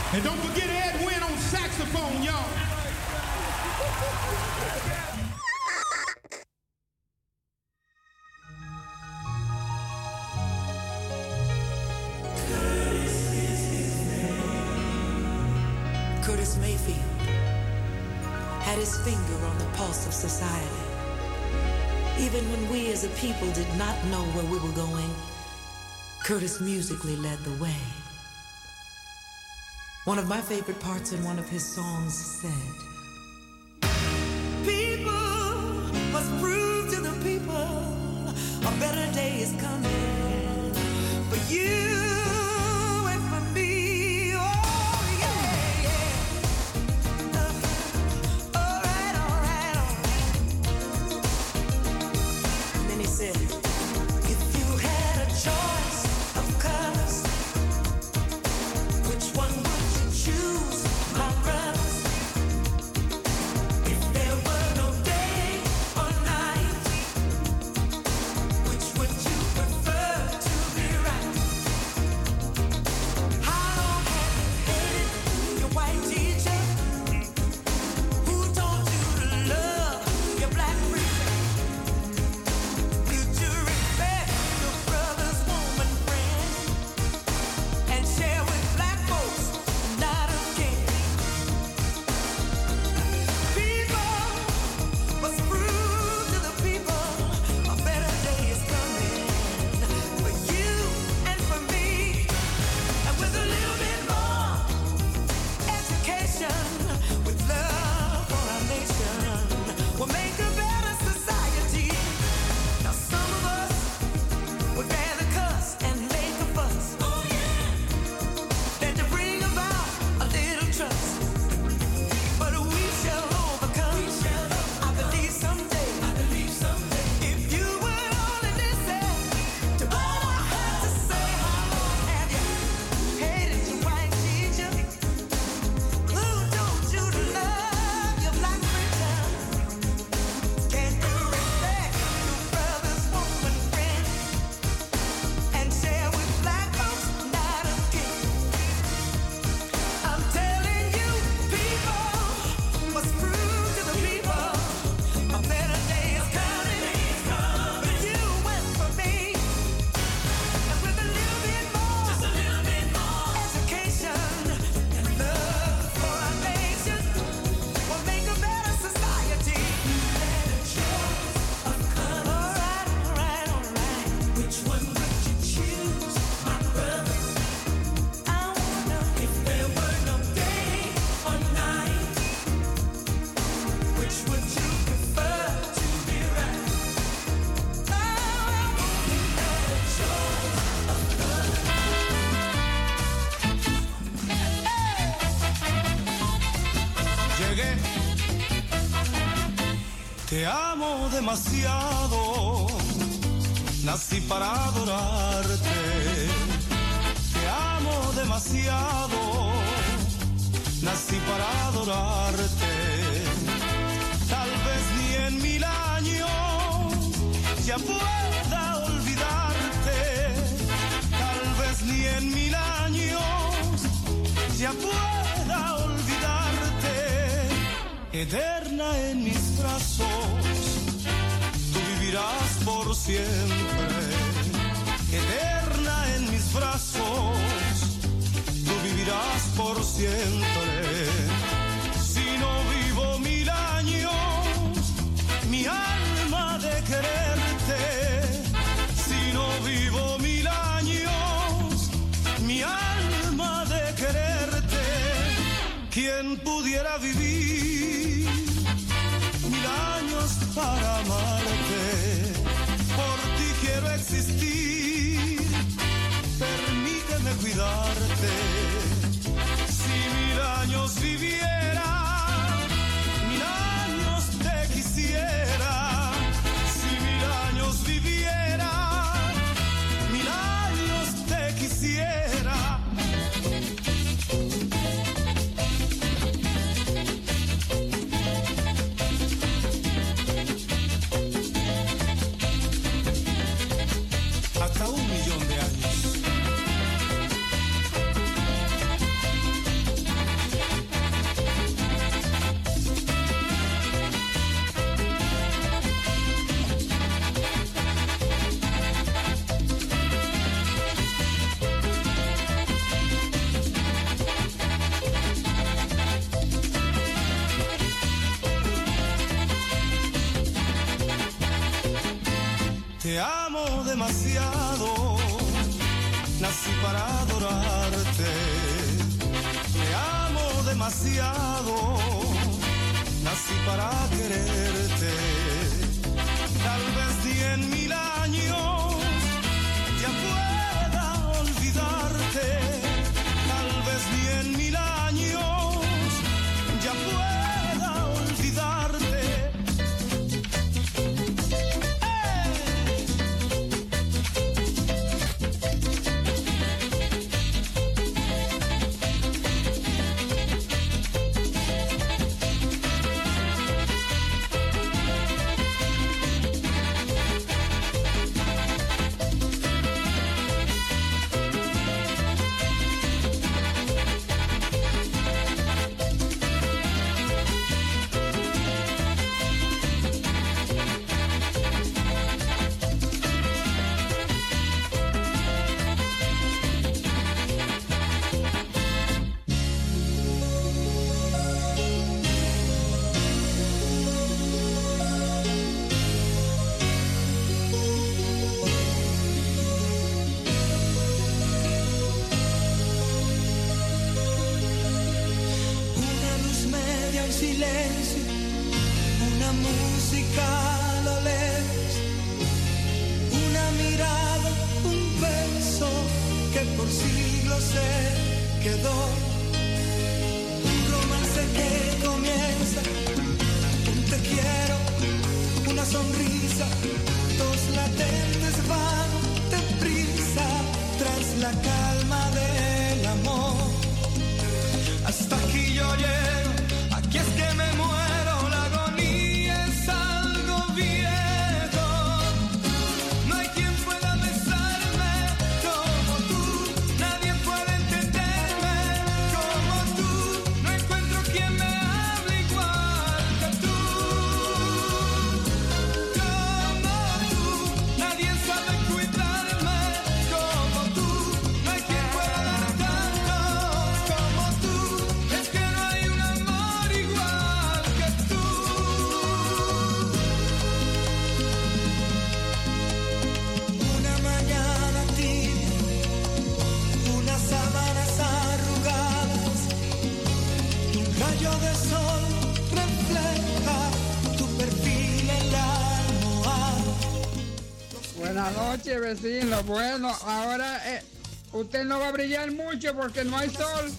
And don't forget Ed Wynn on saxophone, y'all. Curtis Mayfield had his finger on the pulse of society. Even when we as a people did not know where we were going, Curtis musically led the way. One of my favorite parts in one of his songs said, "People must prove to the people a better day is coming for you and for me." Oh, yeah, yeah. All right, all right, all right. And then he said, "If you had a choice of colors, which one would you choose, my brothers? If there were no day or night, which would you prefer to be right? How long have you hated your white teacher? Who told you to love your black preacher? Did you respect your brother's woman friend and share with black folks not again? People must prove to the people a better day is coming for you and for me. And with a little bit more education, with love for our nation, we'll make a better society. Now some of us would rather cuss and make a fuss, oh yeah, than to bring about a little trust. But we shall overcome. I believe someday. If you would only listen to what I have to say. How long have you hated your white teacher? Who told you to love your black preacher? Can you respect your brother's woman friend and share with black folks not again? I'm telling you, people must prove to the people a better day is coming for you and for me. And with a little bit more, just a little bit more education and love for our nation, we'll make a better society. Better choice of colors. All right, all right, all right. Which one would you choose, my brothers? I wonder if there were no day or night, which would you prefer to be right? Oh, better choice of colors. Llegué, te amo demasiado, nací para adorarte. Te amo demasiado, nací para adorarte. Tal vez ni en 1000 años ya pueda olvidarte. Tal vez ni en 1000 años ya pueda olvidarte. Eterna en mis brazos, tú vivirás por siempre. Eterna en mis brazos, tú vivirás por siempre. Si no vivo 1000 años, mi alma de quererte. Si no vivo 1000 años, mi alma de quererte. ¿Quién pudiera vivir 1000 años para amarte? Por ti quiero existir, permíteme cuidarte. Si 1000 años viviera, 1000 años te quisiera. Si 1000 años viviera, 1000 años te quisiera. Hasta 1 millón de años. demasiado, nací para quererte. Tal vez 10.000 años ya pueda olvidarte. Tal vez 10.000 años ya pueda olvidarte. Vecino, bueno, ahora usted no va a brillar mucho porque no hay sol.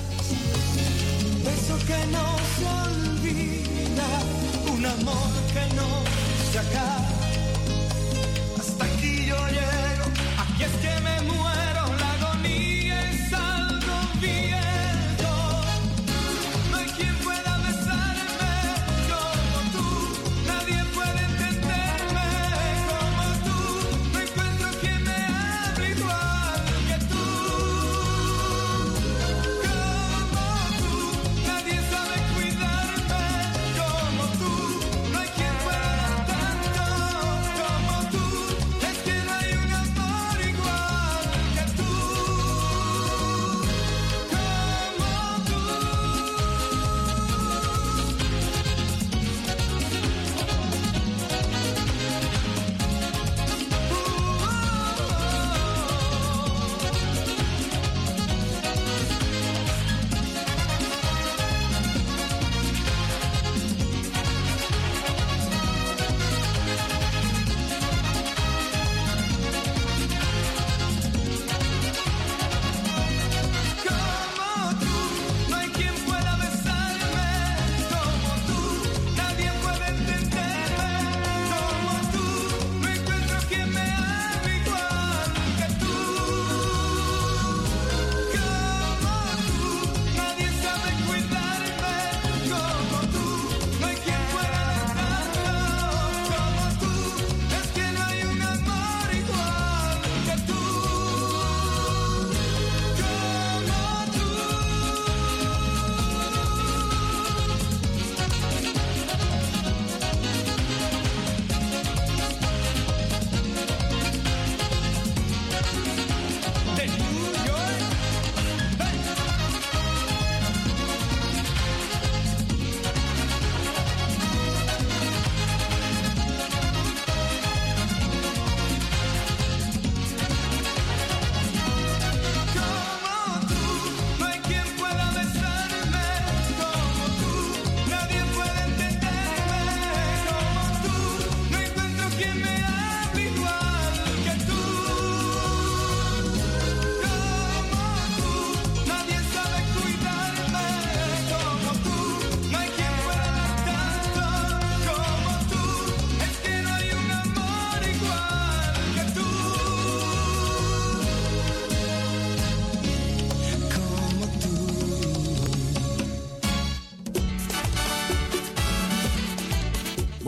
Beso que no se olvida, un amor que no se acaba. Hasta aquí yo llego, aquí es que me muero, la agonía es algo viejo. No hay quien pueda besarme como tú, nadie puede entenderme como tú. No encuentro quien me hable igual que tú. Como tú, nadie sabe cuidarme como tú. No hay quien pueda dar tanto como tú. Es que no hay un amor igual que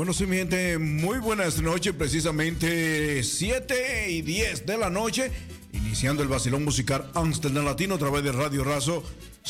Bueno, sí, mi gente, muy buenas noches, precisamente 7:10 de la noche, iniciando el vacilón musical Amsterdam Latino a través de Radio Razo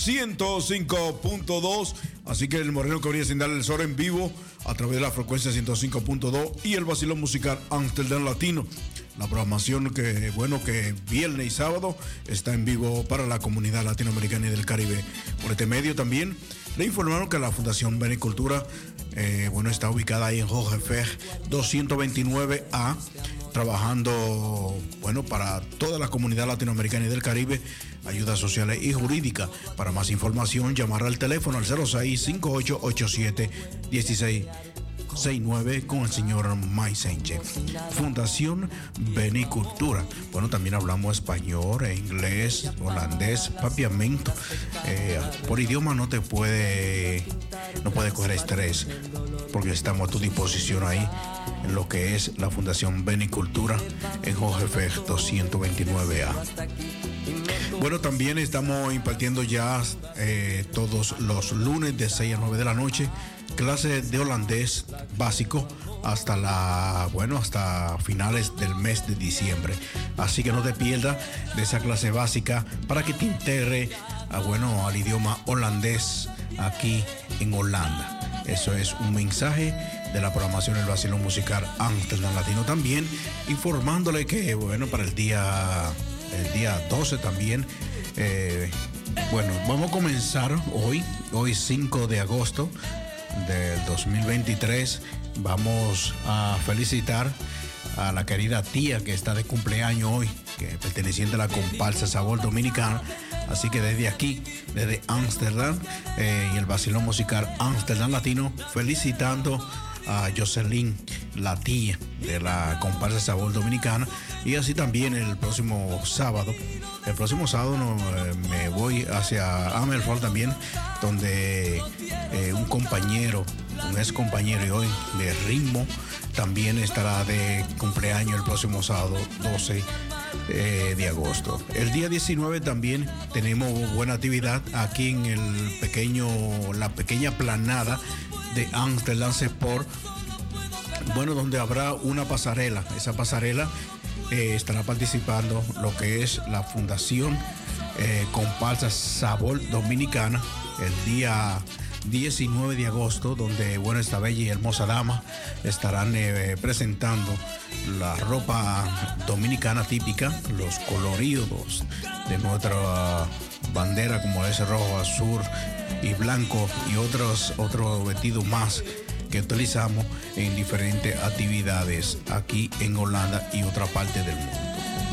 105.2, así que el Moreno Cabría sin darle el sol en vivo a través de la frecuencia 105.2 y el vacilón musical Amsterdam Latino. La programación que viernes y sábado está en vivo para la comunidad latinoamericana y del Caribe. Por este medio también le informaron que la Fundación Benicultura está ubicada ahí en Jorge Fer 229A, trabajando para toda la comunidad latinoamericana y del Caribe, ayudas sociales y jurídicas. Para más información, llamar al teléfono al 06-5887-1669 con el señor Maisenche. Fundación Benicultura. Bueno, también hablamos español, inglés, holandés, papiamento. Por idioma no puede coger estrés, porque estamos a tu disposición ahí en lo que es la Fundación Benicultura en Jorge Fer 229A. Bueno, también estamos impartiendo ya todos los lunes de 6 a 9 de la noche clases de holandés básico hasta finales del mes de diciembre. Así que no te pierdas de esa clase básica para que te integre al idioma holandés aquí en Holanda. Eso es un mensaje de la programación del vacilón musical Amsterdam Latino. También informándole que para el día 12 también vamos a comenzar hoy 5 de agosto del 2023. Vamos a felicitar a la querida tía que está de cumpleaños hoy, que es perteneciente a la comparsa Sabor Dominicana. Así que desde aquí, desde Amsterdam y el vacilón musical Amsterdam Latino, felicitando a Jocelyn, la tía de la comparsa Sabor Dominicana. Y así también el próximo sábado me voy hacia Amerford también, donde un ex compañero y hoy de ritmo también estará de cumpleaños el próximo sábado 12 de agosto. El día 19 también tenemos buena actividad aquí en la pequeña planada de Amsterdam Sport, donde habrá una pasarela. Esa pasarela estará participando lo que es la Fundación Comparsa Sabor Dominicana el día 19 de agosto, donde esta bella y hermosa dama estarán presentando la ropa dominicana típica, los coloridos de nuestra bandera, como es rojo, azul y blanco, y otros vestidos más que utilizamos en diferentes actividades aquí en Holanda y otra parte del mundo.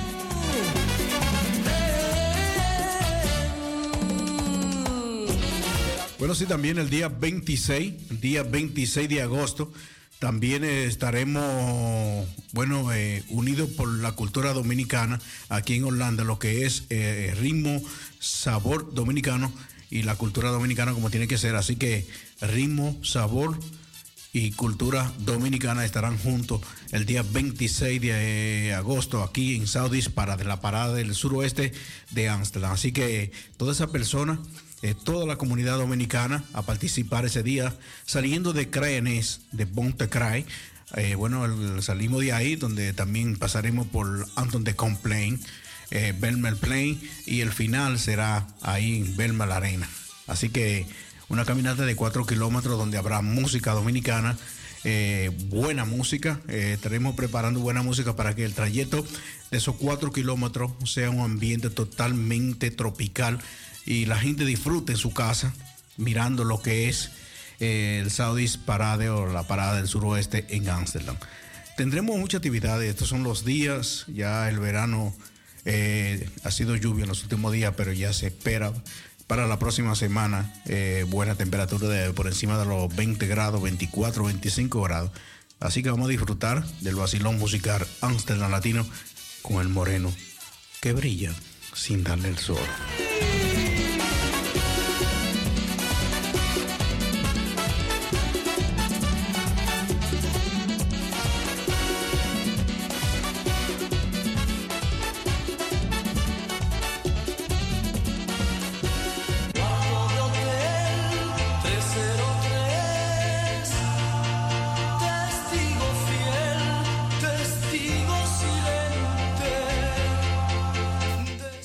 Bueno, sí, también el día 26 de agosto, también estaremos, unidos por la cultura dominicana aquí en Holanda, lo que es ritmo, sabor dominicano y la cultura dominicana como tiene que ser. Así que ritmo, sabor y cultura dominicana estarán juntos el día 26 de agosto aquí en Saudis de la parada del suroeste de Amsterdam. Así que toda esa persona, toda la comunidad dominicana a participar ese día, saliendo de Kraenes, de Bontekraai. Salimos de ahí, donde también pasaremos por Anton de Complein, Belmer Plain, y el final será ahí en Belmer Arena. Así que una caminata de 4 kilómetros donde habrá música dominicana, buena música. Estaremos preparando buena música para que el trayecto de esos 4 kilómetros sea un ambiente totalmente tropical y la gente disfrute en su casa mirando lo que es el Saudis Parade o la parada del suroeste en Amsterdam. Tendremos muchas actividades. Estos son los días, ya el verano ha sido lluvia en los últimos días, pero ya se espera para la próxima semana buena temperatura por encima de los 20 grados, 24, 25 grados. Así que vamos a disfrutar del vacilón musical Amsterdam Latino con el moreno que brilla sin darle el sol.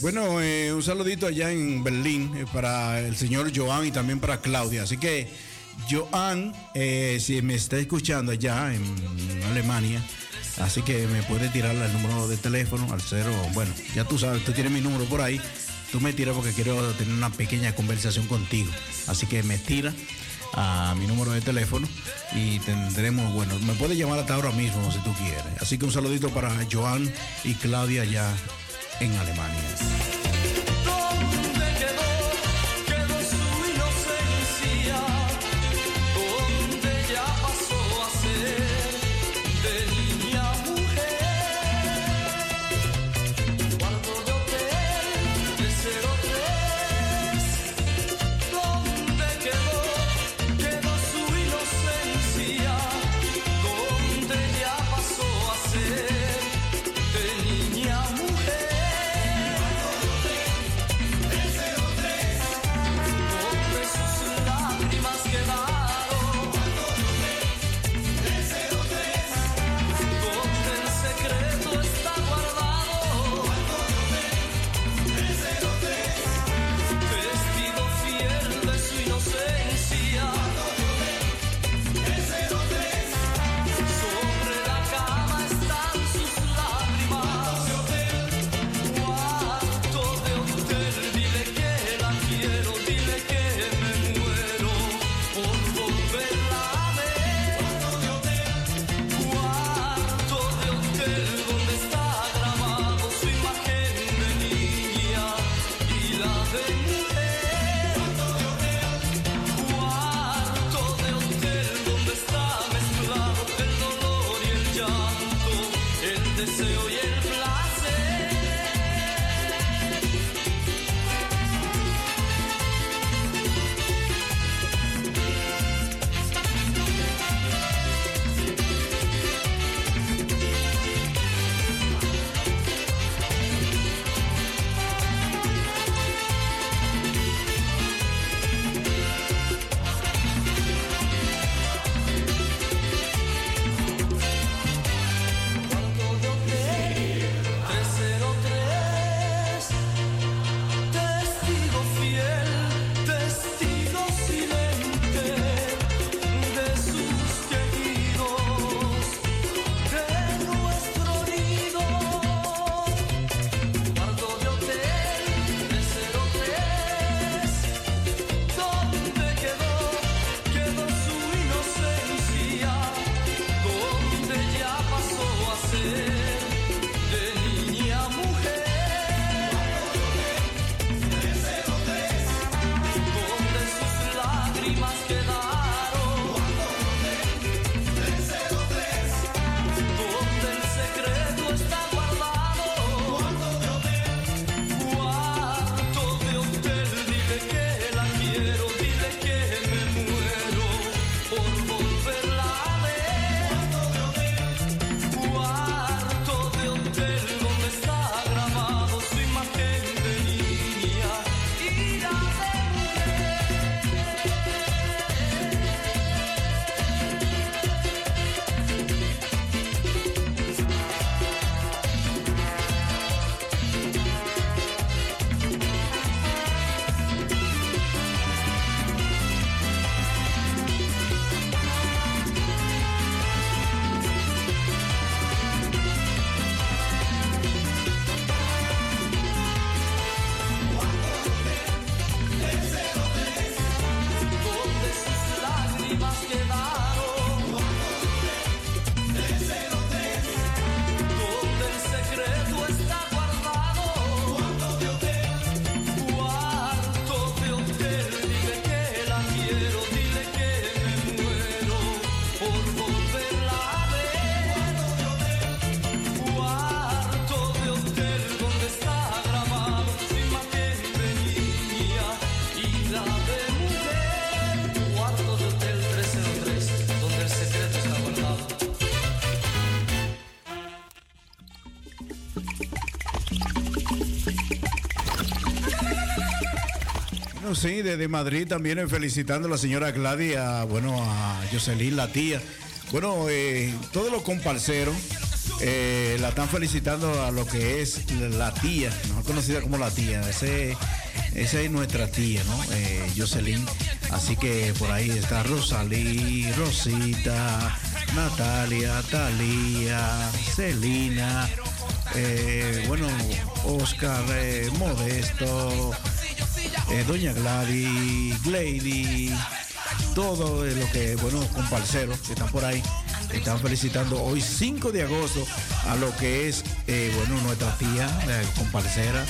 Bueno, un saludito allá en Berlín para el señor Joan y también para Claudia. Así que, Joan, si me está escuchando allá en Alemania, así que me puede tirar el número de teléfono al 0. Bueno, ya tú sabes, tú tienes mi número por ahí. Tú me tiras porque quiero tener una pequeña conversación contigo. Así que me tira a mi número de teléfono y tendremos, bueno, me puedes llamar hasta ahora mismo si tú quieres. Así que un saludito para Joan y Claudia allá en Alemania. ¿Dónde quedó su inocencia? ¿Dónde ya pasó a ser de niña a mujer? Cuarto de hotel 303. ¿Dónde quedó su inocencia? ¿Dónde ya pasó a ser de niña a mujer? Bueno, sí, desde Madrid también felicitando a la señora Gladys, bueno, a Jocelyn, la tía. Bueno, todos los comparceros la están felicitando a lo que es la tía, mejor conocida como la tía. Esa es nuestra tía, ¿no? Jocelyn. Así que por ahí está Rosalí, Rosita, Natalia, Talía, Celina, bueno, Oscar, Modesto, Doña Gladys, Glady, todo lo que, bueno, comparceros que están por ahí. Están felicitando hoy 5 de agosto a lo que es, bueno, nuestra tía, comparcera.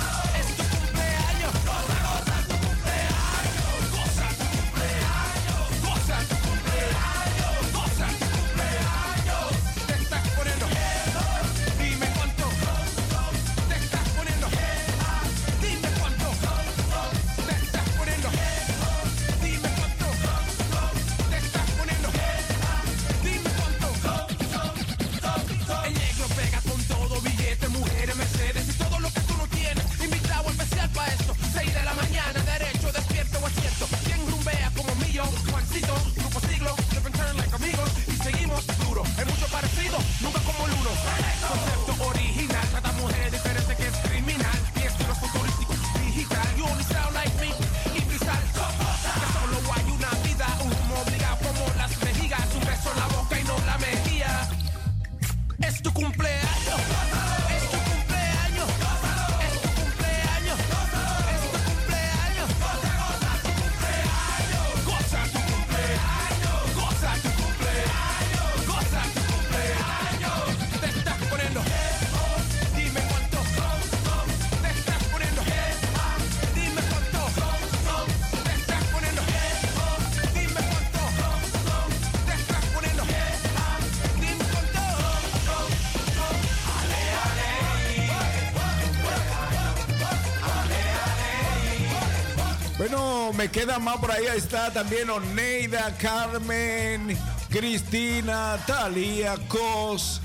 Bueno, me queda más por ahí. Ahí está también Oneida, Carmen, Cristina, Talía, Cos,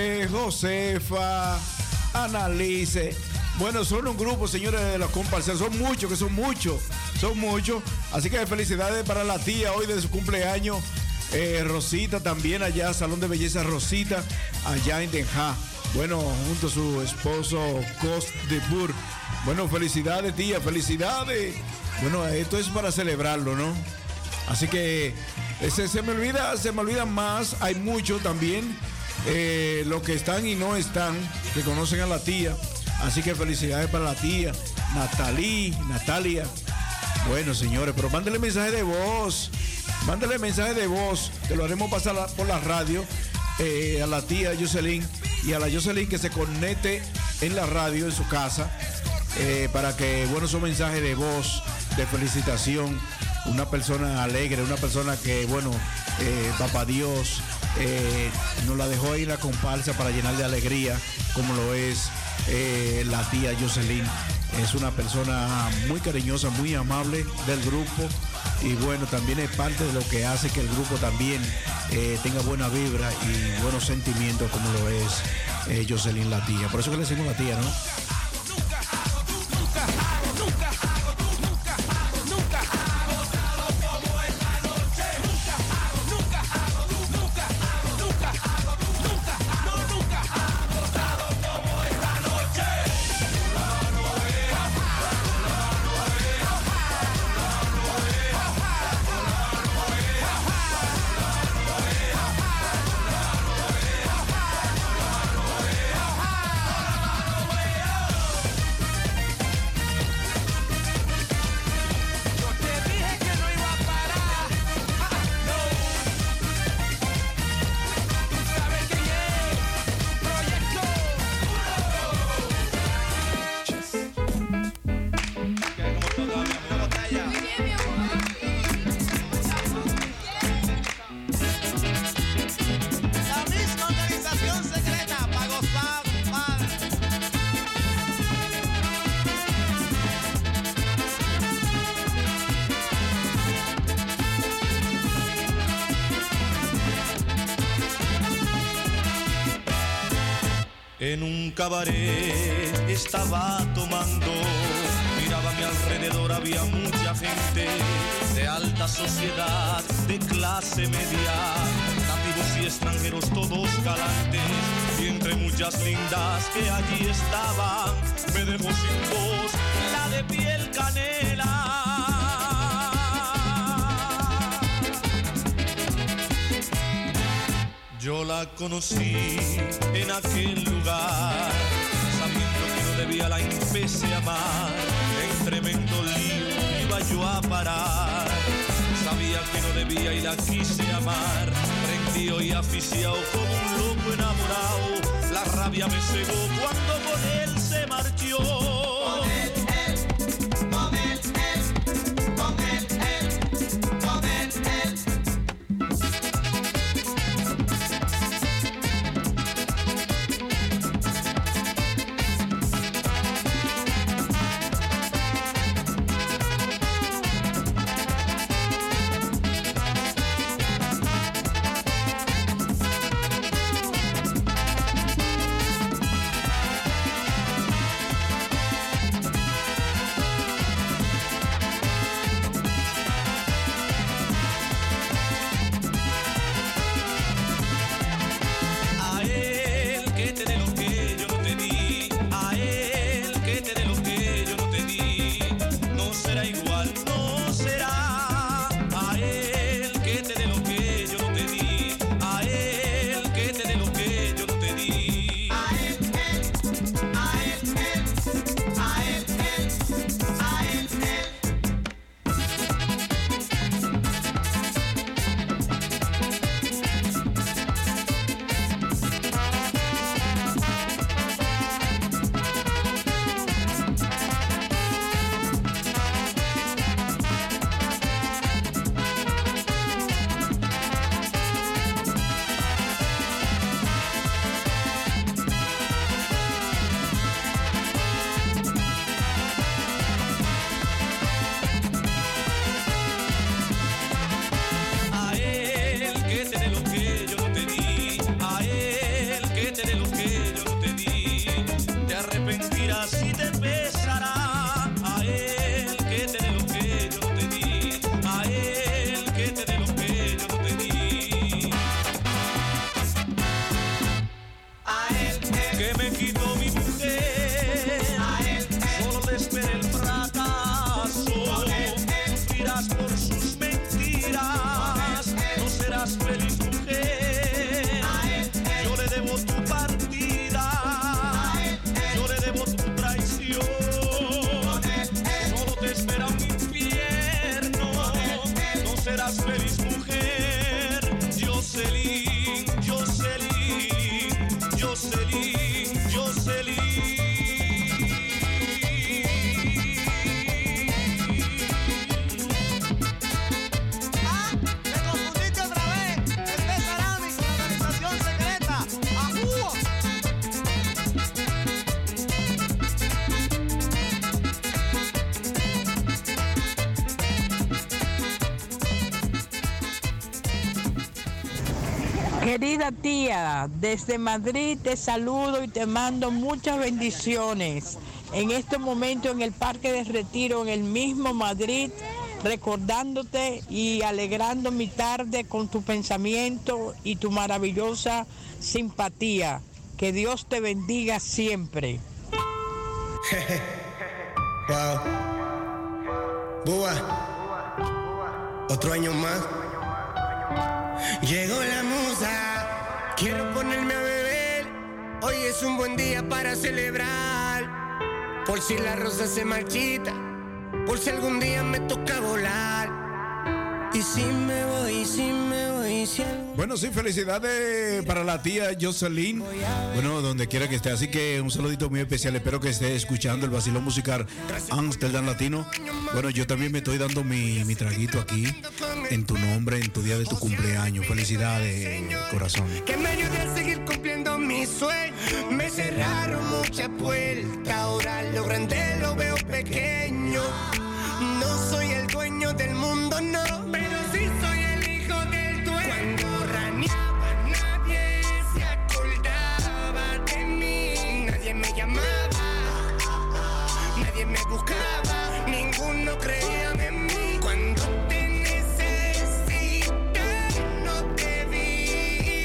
Josefa, Analice. Bueno, son un grupo, señores, de los comparceros. Son muchos, que son muchos. Así que felicidades para la tía hoy de su cumpleaños. Rosita también allá, Salón de Belleza Rosita, allá en Den Haag. Bueno, junto a su esposo Cos de Bur. Bueno, felicidades, tía, felicidades. Bueno, esto es para celebrarlo, ¿no? Así que se me olvidan más. Hay muchos también, los que están y no están, que conocen a la tía. Así que felicidades para la tía, Natalia. Bueno, señores, pero mándele mensaje de voz. Que lo haremos pasar por la radio a la tía Jocelyn y a la Jocelyn que se conecte en la radio en su casa para que, bueno, son mensajes de voz, de felicitación. Una persona alegre, una persona que, bueno, papá Dios nos la dejó ahí en la comparsa para llenar de alegría, como lo es la tía Jocelyn. Es una persona muy cariñosa, muy amable del grupo, y bueno, también es parte de lo que hace que el grupo también tenga buena vibra y buenos sentimientos, como lo es Jocelyn, la tía. Por eso que le decimos la tía, ¿no? En un cabaret estaba tomando, miraba a mi alrededor, había mucha gente de alta sociedad, de clase media, gringos y extranjeros todos galantes, y entre muchas lindas que allí estaban, me dejó sin voz la de piel canela. Yo la conocí en aquel lugar, sabiendo que no debía la empecé a amar. En tremendo lío iba yo a parar, sabía que no debía y la quise amar. Prendido y aficiado como un loco enamorado, la rabia me cegó cuando con él se marchó. Con él, con él, con él, con él, con él. Querida tía, desde Madrid te saludo y te mando muchas bendiciones. En este momento en el Parque de Retiro, en el mismo Madrid, recordándote y alegrando mi tarde con tu pensamiento y tu maravillosa simpatía. Que Dios te bendiga siempre. Wow. Búa. Otro año más. Llegó la musa, quiero ponerme a beber. Hoy es un buen día para celebrar. Por si la rosa se marchita, por si algún día me toca volar. Y si me voy, si Bueno, sí, felicidades para la tía Jocelyn. Bueno, donde quiera que esté. Así que un saludito muy especial. Espero que esté escuchando el vacilón musical Amsterdam Latino. Bueno, yo también me estoy dando mi traguito aquí en tu nombre, en tu día de tu cumpleaños. Felicidades, corazón. Que me ayude a seguir cumpliendo mis sueños. Me cerraron muchas puertas, ahora lo grande lo veo pequeño. No soy el dueño del mundo, no, pero sí soy el hijo del dueño. Cuando raneaba nadie se acordaba de mí. Nadie me llamaba, nadie me buscaba, ninguno creía en mí. Cuando te necesité no te vi.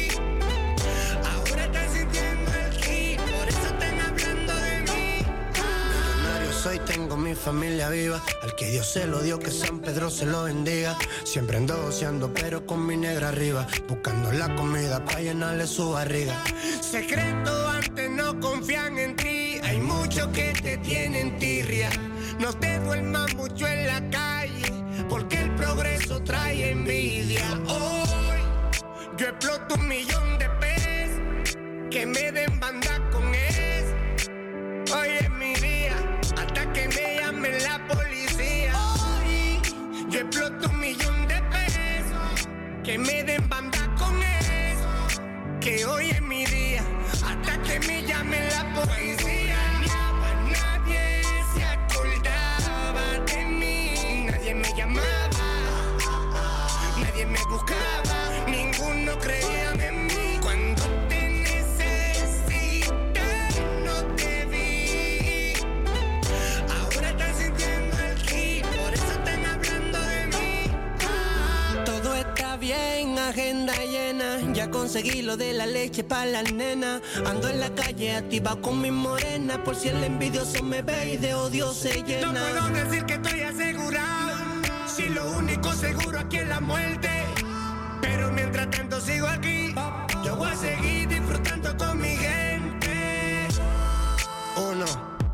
familia viva. Al que Dios se lo dio, que San Pedro se lo bendiga. Siempre ando goceando, pero con mi negra arriba, buscando la comida para llenarle su barriga. Secreto, antes no confían en ti. Hay muchos que te tienen tirria. No te duermas mucho en la calle, porque el progreso trae envidia. Hoy yo exploto 1,000,000 de pesos, que me den banda con eso. Hoy es mi día, hasta que me llame la policía. Hoy yo exploto 1,000,000 de pesos, que me den banda con eso. Que hoy es mi día, hasta que me llame la policía. Nadie se acordaba de mí, nadie me llamaba, nadie me buscaba, ninguno creía en mí. Cuando te necesité, no te vi. Ahora están sintiendo el ki, por eso están hablando de mí. Todo está bien, agenda llena. Ya conseguí lo de la leche para la nena. Ando en la calle activa con mi morena, por si el envidioso me ve y de odio se llena. No puedo decir que estoy asegurado, si lo único seguro aquí es la muerte. Pero mientras tanto sigo aquí, yo voy a seguir disfrutando con mi gente. Uno.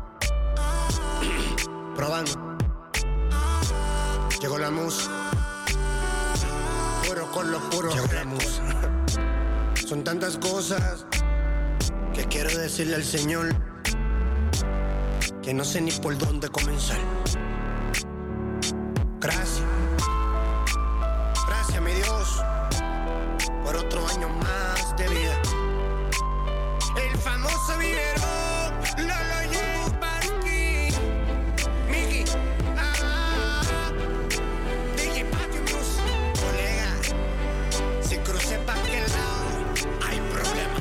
Probando. Llegó la musa. Puro con los puros. Llegó la musa. Son tantas cosas que quiero decirle al Señor, que no sé ni por dónde comenzar. Gracias. Gracias, mi Dios, por otro año más de vida. El famoso dinero lo llevo para aquí. Miki, DJ Patimus, colega, si crucé pa' aquel lado, hay problema.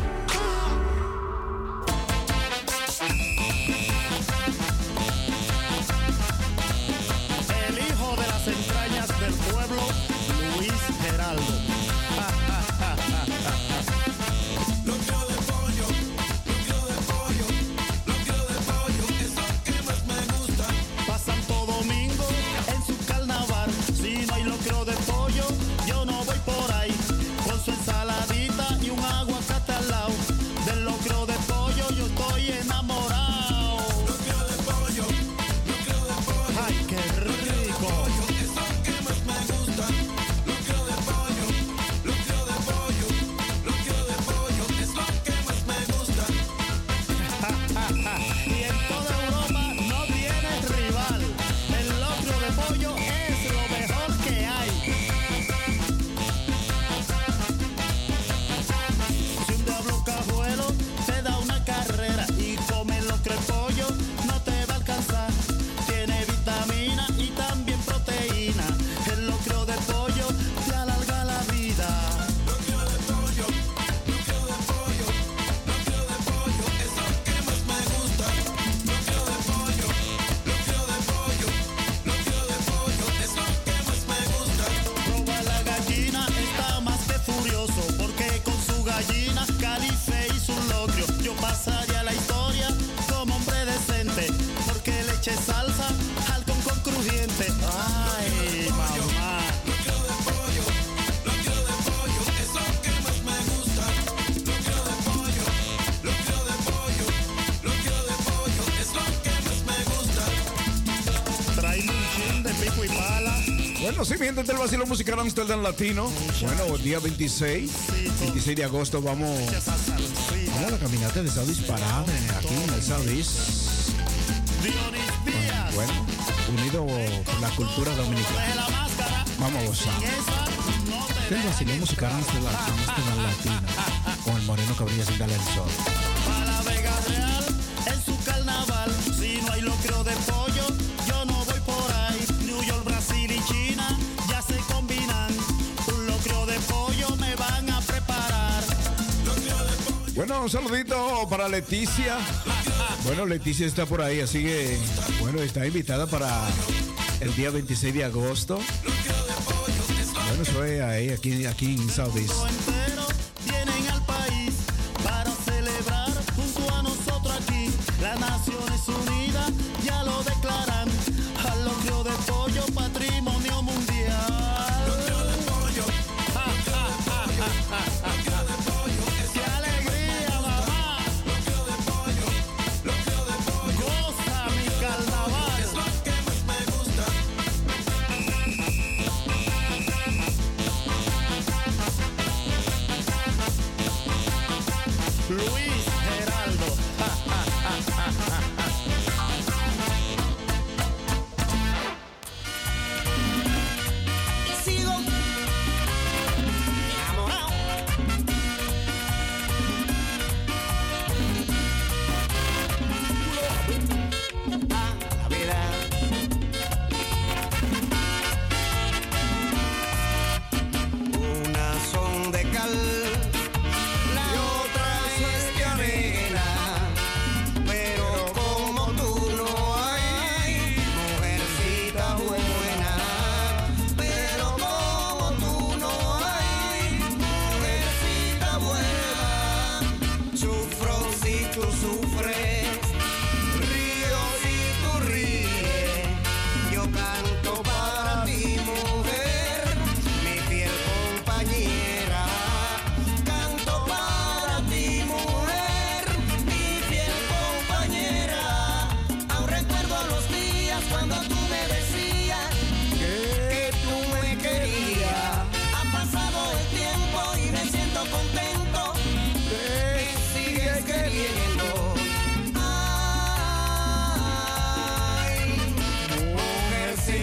El hijo de las entrañas del pueblo, Luis Geraldo. Locro de pollo, eso que más me gusta. Pa' Santo Domingo en su carnaval, si no hay locro de pollo, yo no voy por ahí. Con su ensaladita y un aguacate al lado, del locro de pollo yo estoy enamorado. Locro de pollo, ay, qué rico. eso que más me gusta. Locro de pollo, es lo que más me gusta. Y en toda Europa no tiene rival. El locro de pollo es lo mejor que hay. Si un diablo cajuelo te da una carrera y come locro de pollo, no te va a alcanzar. Tiene vitamina y también proteína. El locro de pollo te alarga la vida. Locro de pollo, eso que más me gusta. Locro de pollo, es lo que más me gusta. Proba la gallina, está más que furioso, porque con su gallina Calife hizo un locrio. Yo pasaría a la historia como hombre decente, porque le eché salsa al con crujiente. Ay, mamá. Locro de pollo, eso que más me gusta. Locro de pollo, es lo que más me gusta. Trae un chin de pico y pala. Bueno, sí, mi gente del Vacilón Musical Amsterdam Latino. Bueno, día 26 de agosto vamos a la caminata de Southeast Parade aquí en el Southeast. Dionis Díaz. Bueno, unido por la cultura dominicana. Vamos a gozar. El Vacilón Musical Amsterdam Latino con el moreno que brilla sin darle el sol. A la Vega Real en su carnaval, si no hay locro de pollo, yo no voy por ahí. New York, Brasil y China ya se combinan. Un locro de pollo me van a preparar. Bueno, un saludito para Leticia. Bueno, Leticia está por ahí, así que, bueno, está invitada para el día 26 de agosto. Bueno, eso es ahí, aquí en Southeast. Entero vienen al país para celebrar junto a nosotros aquí. Las Naciones Unidas ya lo declaran.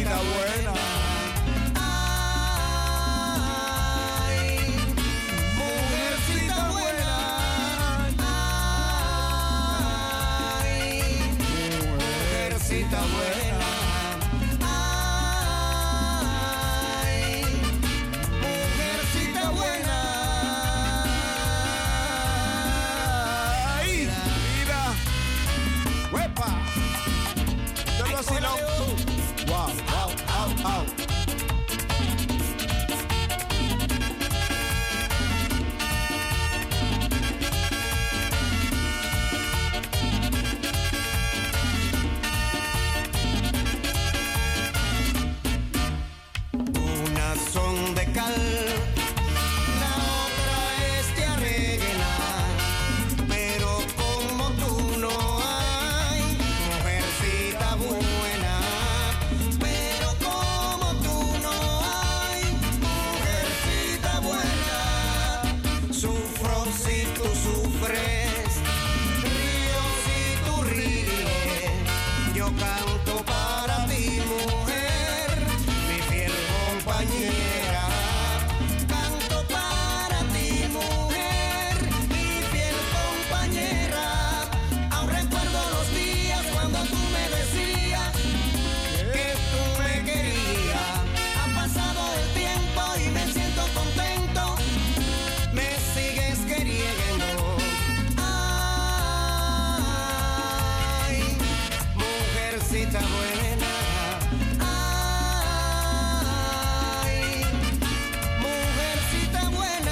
mujercita buena. Mujercita buena, ay, mujercita buena, Ay, mira. ¡Huepa! Yo lo vacilo. Wow, wow, au, au. unas son de cal, la otra es de arena, pero como tú no hay, mujercita buena, pero como tú no hay, mujercita buena, sufro si tú sufres, río si tú ríes, yo canto para ti, mujer, mi fiel compañera, canto para ti, mujer, mi fiel compañera. Aún recuerdo los días cuando tú me decías que tú me querías. Ha pasado el tiempo y me siento contento, me sigues queriendo. Ay, mujercita buena, ay, mujercita buena,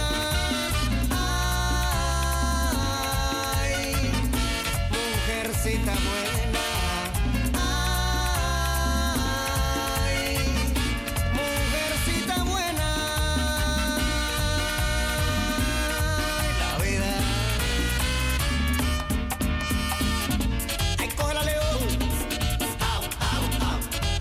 ay, mujercita buena, ay, mujercita buena, la vida. Ay, cógela, Leo. Au, au, au.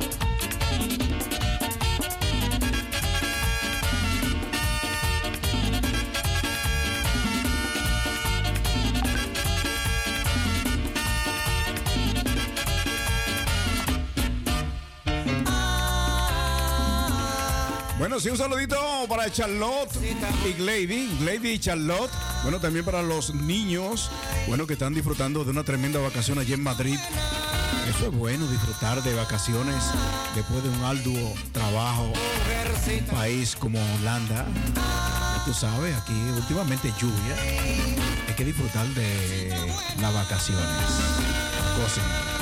Bueno, sí, un saludito para Charlotte y Glady y Charlotte. Bueno, también para los niños, bueno, que están disfrutando de una tremenda vacación allí en Madrid. Eso es bueno, disfrutar de vacaciones después de un arduo trabajo en un país como Holanda. Ya tú sabes, aquí últimamente lluvia. Hay que disfrutar de las vacaciones. Gocen.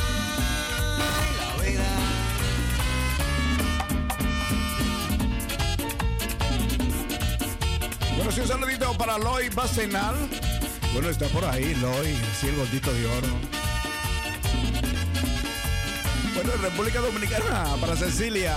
Bueno, sí, un saludito para Loy Bacenal. Bueno, está por ahí Loy, sí, el gordito de oro. Bueno, en República Dominicana, para Cecilia.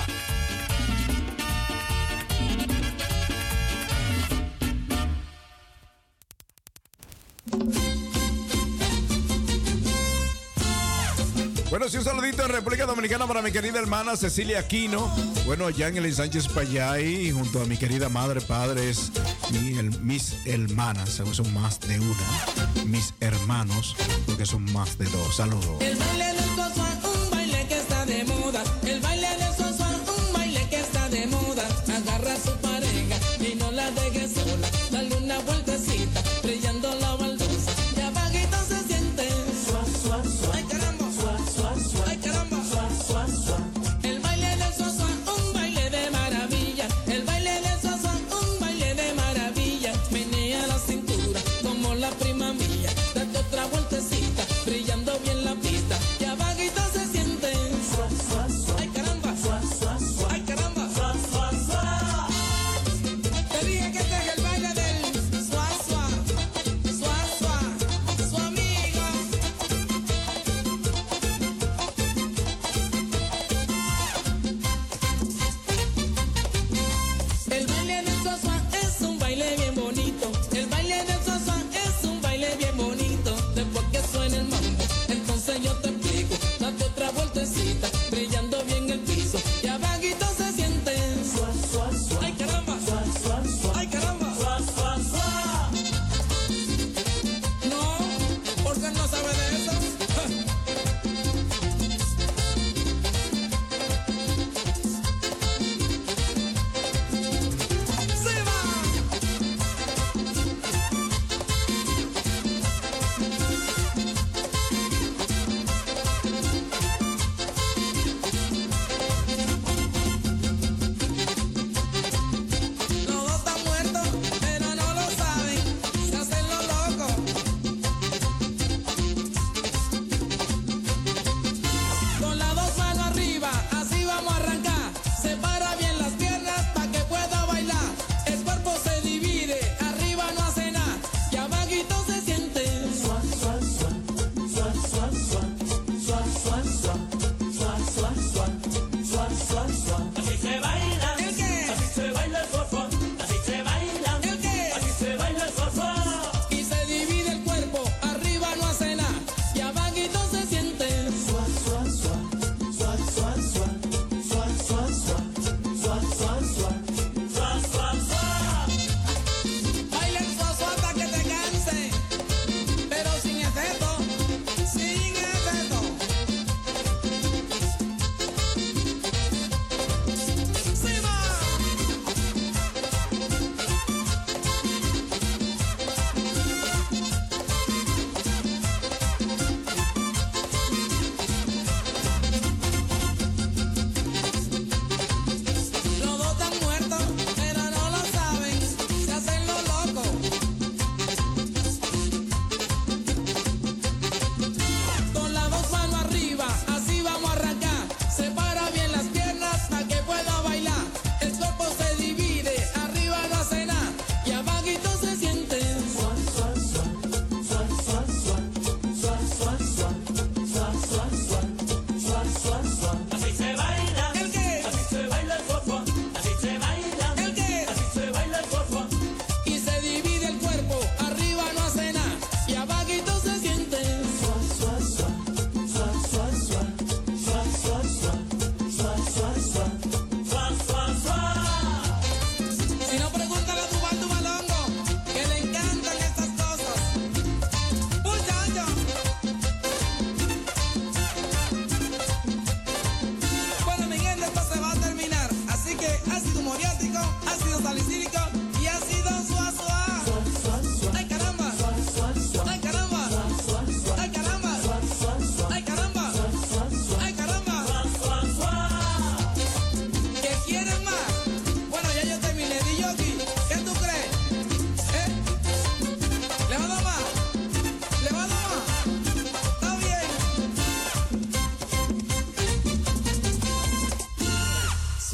Bueno, sí, un saludito en República Dominicana para mi querida hermana Cecilia Aquino. Bueno, allá en el Sánchez Payay, junto a mi querida madre, padres, mis hermanas, son más de una. Mis hermanos, porque son más de dos. Saludos. El baile del Sosuán, un baile que está de moda. El baile del Sosuán, un baile que está de moda. Agarra a su pareja y no la deje sola. Dale una vueltecita, brillando la baldosa. Y abajito se siente. Ay, caramba. Ay, caramba. El baile del Sosuán, un baile de maravilla. El baile del Sosuán, un baile de maravilla. Menea la cintura como la prima mía. Date otra vueltecita, brillando bien la pista. Ya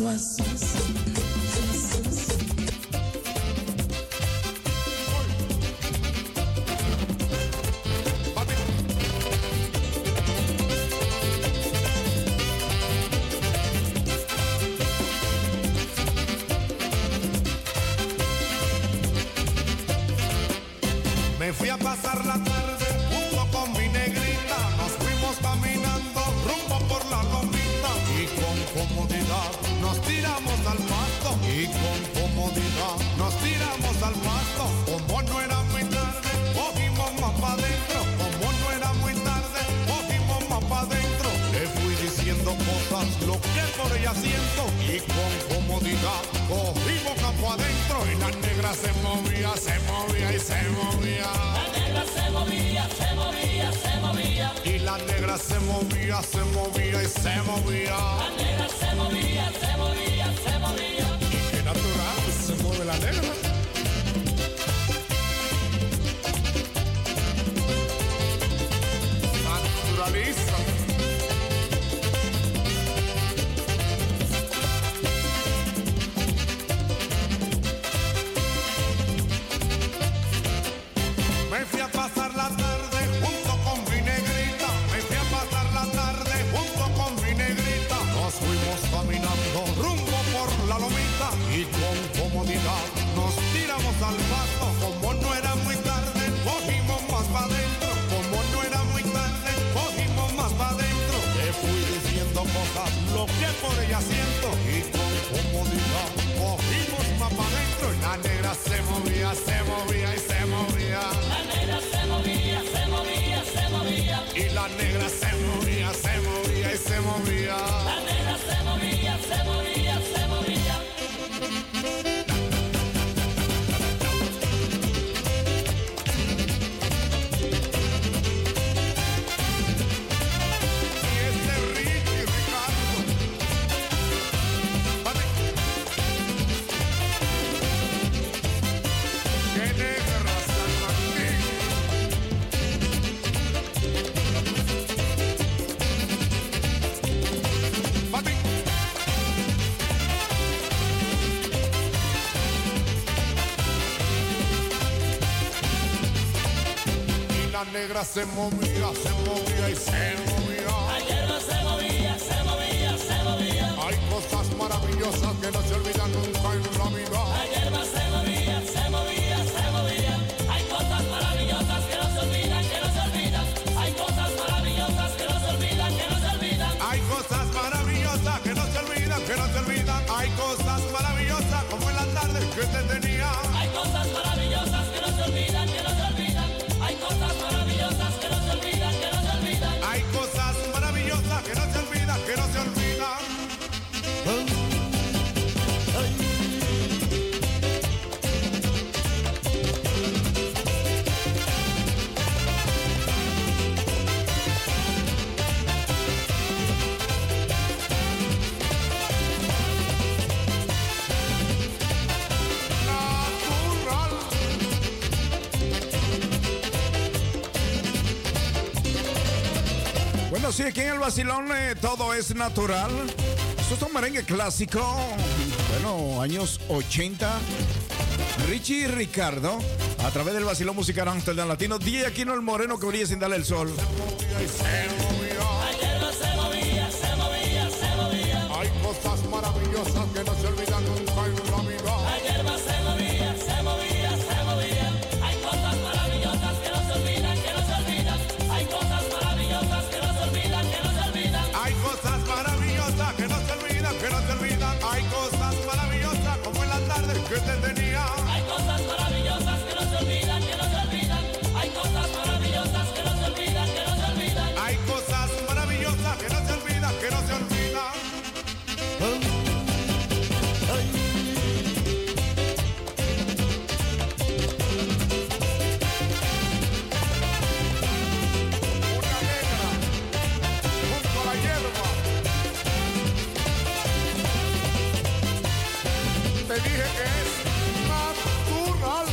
Me fui a pasar la tarde junto con mi negrita. Nos fuimos caminando rumbo por la lomita. Y con comodidad nos tiramos al pasto. Y con comodidad nos tiramos al pasto. Como no era muy tarde, cogimos más pa' dentro. Como no era muy tarde, cogimos más pa' dentro. Le fui diciendo cosas, lo que por ella siento. Y con comodidad cogimos más pa' adentro. Y la negra se movía, se movía y se movía. La negra se movía, se movía, se movía. Y la negra se movía, se movía y se movía. La negra se movía, se movía, se movía. Y qué natural se mueve la negra. Naturaliza. Me fui a pasar la tarde junto con mi negrita. Me fui a pasar la tarde junto con mi negrita. Nos fuimos caminando rumbo por la lomita. Y con comodidad nos tiramos al pasto. Como no era muy tarde, cogimos más pa' dentro. Como no era muy tarde, cogimos más pa' dentro. Le fui diciendo cosas, lo que por ella siento. Y con comodidad cogimos más pa' dentro. Y la negra se movía, se movía y se movía. La negra se movía, se movía, se movía. Y la negra se movía, se movía y se movía. La negra se movía, se movía, se movía. Y ese Ricky Ricardo. Vale. Qué negra San Martín. Papi. Y la negra se movía y se movía. La hierba se movía, se movía, se movía. Hay cosas maravillosas que no se olvidan nunca en la vida. La hierba se movía, se movía, se movía. Hay cosas maravillosas que no se olvidan, que no se olvidan. Hay cosas maravillosas que no se olvidan, que no se olvidan. Hay cosas maravillosas que no se olvidan, que no se olvidan. Hay cosas maravillosas como en la tarde que te tenía. Hay cosas maravillosas que no se olvidan, que no se olvidan. Hay cosas maravillosas que no se olvidan, que no se olvidan. Hay cosas maravillosas que no se olvidan, que no se olvidan. Natural. Bueno, sí, aquí en el vacilón todo es natural. Esto es un merengue clásico. Bueno, años 80. Richie y Ricardo, a través del vacilón musical Amsterdam Latino. DJ Aquino el Moreno que brilla sin darle el sol. La hierba se movía, se movía, se movía. Hay cosas maravillosas que no se olvidan nunca en la vida. La hierba se movía, se movía, se movía. Hay cosas maravillosas que no se olvidan, que no se olvidan. Hay cosas maravillosas que no se olvidan, que no se olvidan. Hay cosas maravillosas que no se olvidan, que no se olvidan. Hay cosas maravillosas como en la tarde que te tenía. Hay cosas maravillosas que no se olvidan, que no se olvidan. Hay cosas maravillosas que no se olvidan, que no se olvidan. Hay cosas maravillosas que no se olvidan, que no se olvidan. Una negra junto a la hierba. Te dije que es natural.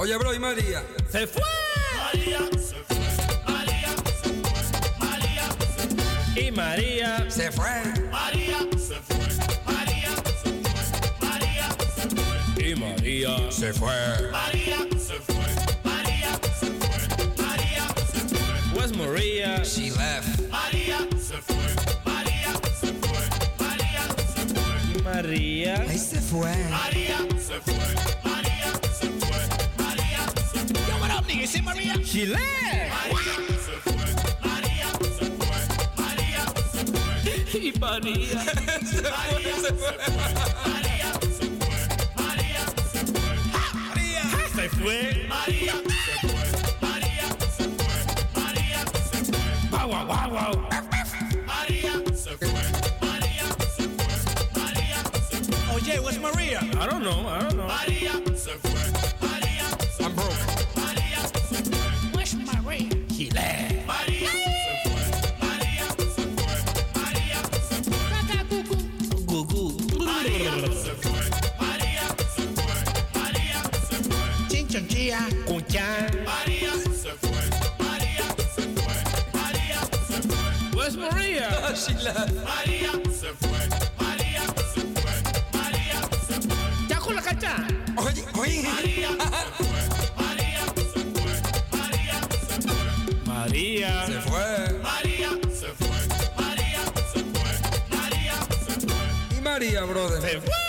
Oye, bro, ¿y María? ¡Se fue! María se fue. María se fue. María se fue. Y María Se fue. María se fue. María se fue. María se fue. y María Se fue. María se fue. María se fue. María se fue. Where's Maria? She left. María se fue. María se fue. María se fue. Y María Ahí se fue. María se fue. María se fue. María se fue. Yo, what up, nigga? See Maria? She left. María se fue. María se fue. María se fue. Y María María se fue. María se fue. María se fue. se fue. María se fue. María se fue. María se fue. Wow, wow, wow, wow. María se fue. María se fue. María se fue. Oye, where's Maria? I don't know. María se fue. María se I'm broke. fue. María se fue. Where's Maria? She left. María se fue. María se fue. María se fue. Gugu. María se fue. María se fue. María se fue. Chinchonchilla. Cuchan. María se fue. María se fue. María se fue. Where's Maria? She left. María se fue. María se fue. María se fue. Ya con la cacha. Oye, oye. María se fue. María se fue. María se fue. María Se fue. María se fue. María se fue. María se fue. ¿Y María, brother? se fue.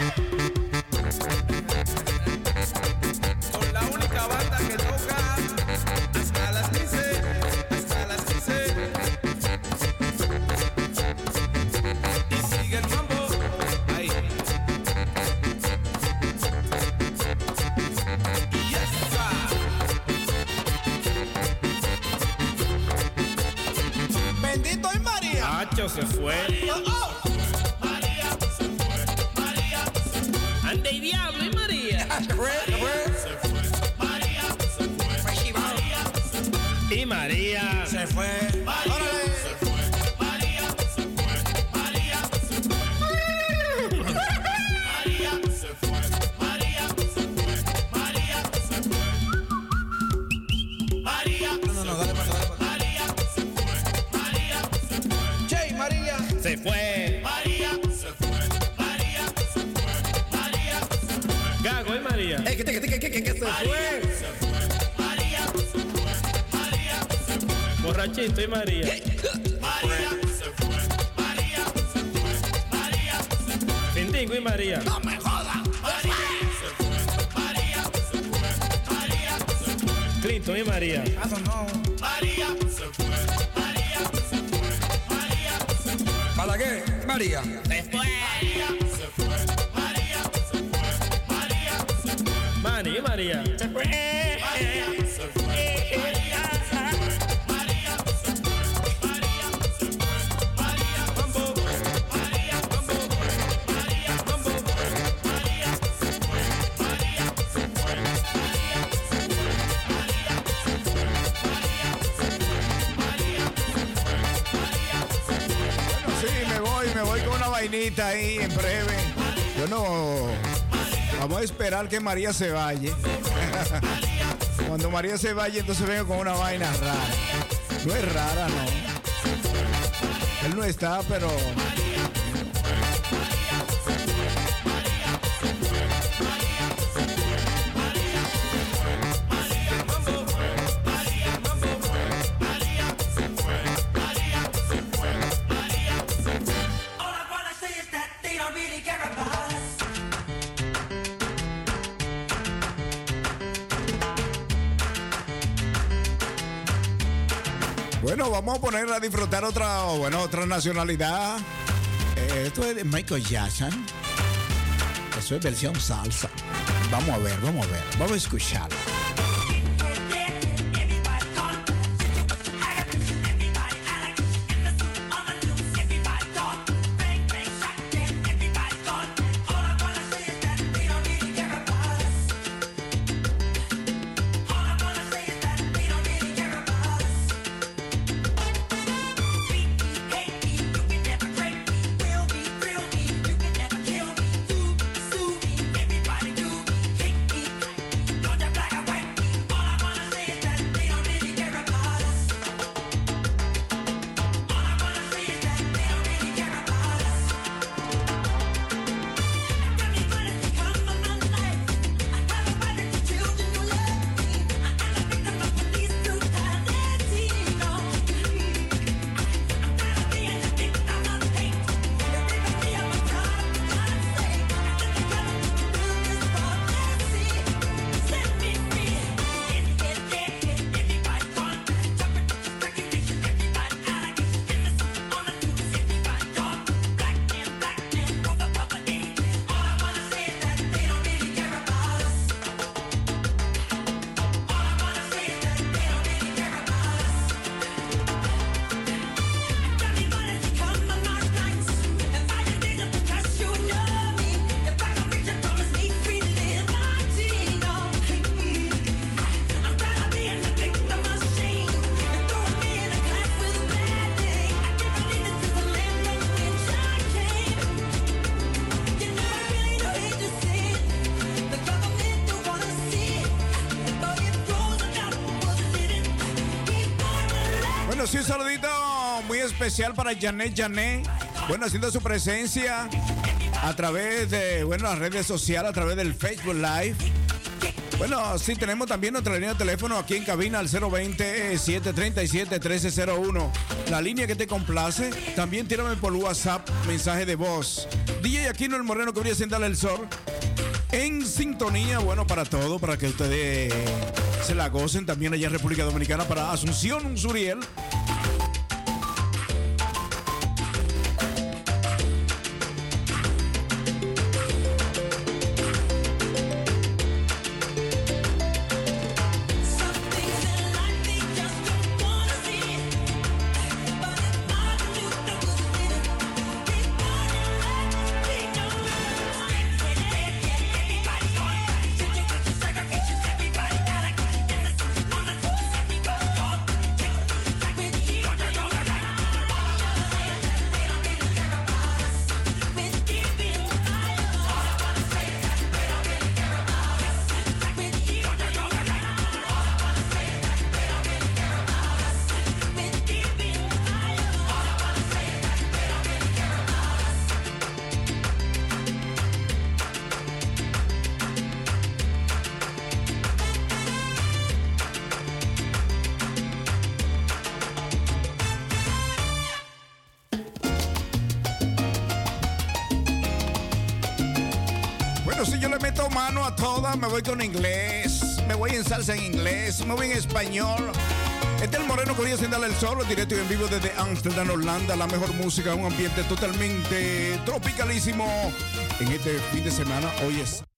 Con la única banda que toca hasta las 15. Hasta las 15. Y sigue el mambo. Ahí. Yes, sir. Bendito es María. Nacho se fue. María se fue. María se fue. Ande y diablo y María. Se fue. Se fue. Se fue. María se fue. María se fue. Y María Se fue. María se fue. María se fue. María se fue. María se fue. María se fue. María se fue. María No, dale para atrás. María se fue. María se fue. Che, María. se fue. María se fue. María se fue. María se fue. Gago y María. ¿Qué se fue? Se fue. María se fue. María se fue. Borrachito y María. María se fue. María se fue. María se fue. Findingo y María. No me jodan. María se fue. María se fue. María se fue. Clinton y María. I don't know. María se fue. María se fue. María se fue. ¿Para qué? María. Se fue. María se fue. María se fue. María se fue. Manny y María. Se fue. María se fue. María se fue. María se fue. María se fue. María Mambo. María mambo. María mambo. María se fue. María se fue. María se fue. María se fue. María se fue. María se fue. María se fue. Bueno, sí, me voy con una vainita ahí en breve. Yo no. Vamos a esperar que María se vaya. Cuando María se vaya, entonces vengo con una vaina rara. No es rara, no. Él no está, pero. All I wanna say is that they don't really care about us. Bueno, vamos a poner a disfrutar otra nacionalidad. Esto es de Michael Jackson. Eso es versión salsa. Vamos a ver. Vamos a escucharlo. Everybody do me, hate me, don't you black Bueno, sí, un saludito muy especial para Janet. Bueno, haciendo su presencia a través de, bueno, las redes sociales, a través del Facebook Live. Bueno, sí, tenemos también nuestra línea de teléfono aquí en cabina al 020-737-1301. La línea que te complace. También tírame por WhatsApp mensaje de voz. DJ Aquino el Moreno que brilla sin darle el sol. En sintonía, bueno, para todo, para que ustedes se la gocen también allá en República Dominicana, para Asunción Suriel. Si yo le meto mano a todas, me voy con inglés, me voy en salsa en inglés, me voy en español. Este es el Moreno que brilla sin darle el sol, directo y en vivo desde Amsterdam, Holanda. La mejor música, un ambiente totalmente tropicalísimo en este fin de semana. Hoy es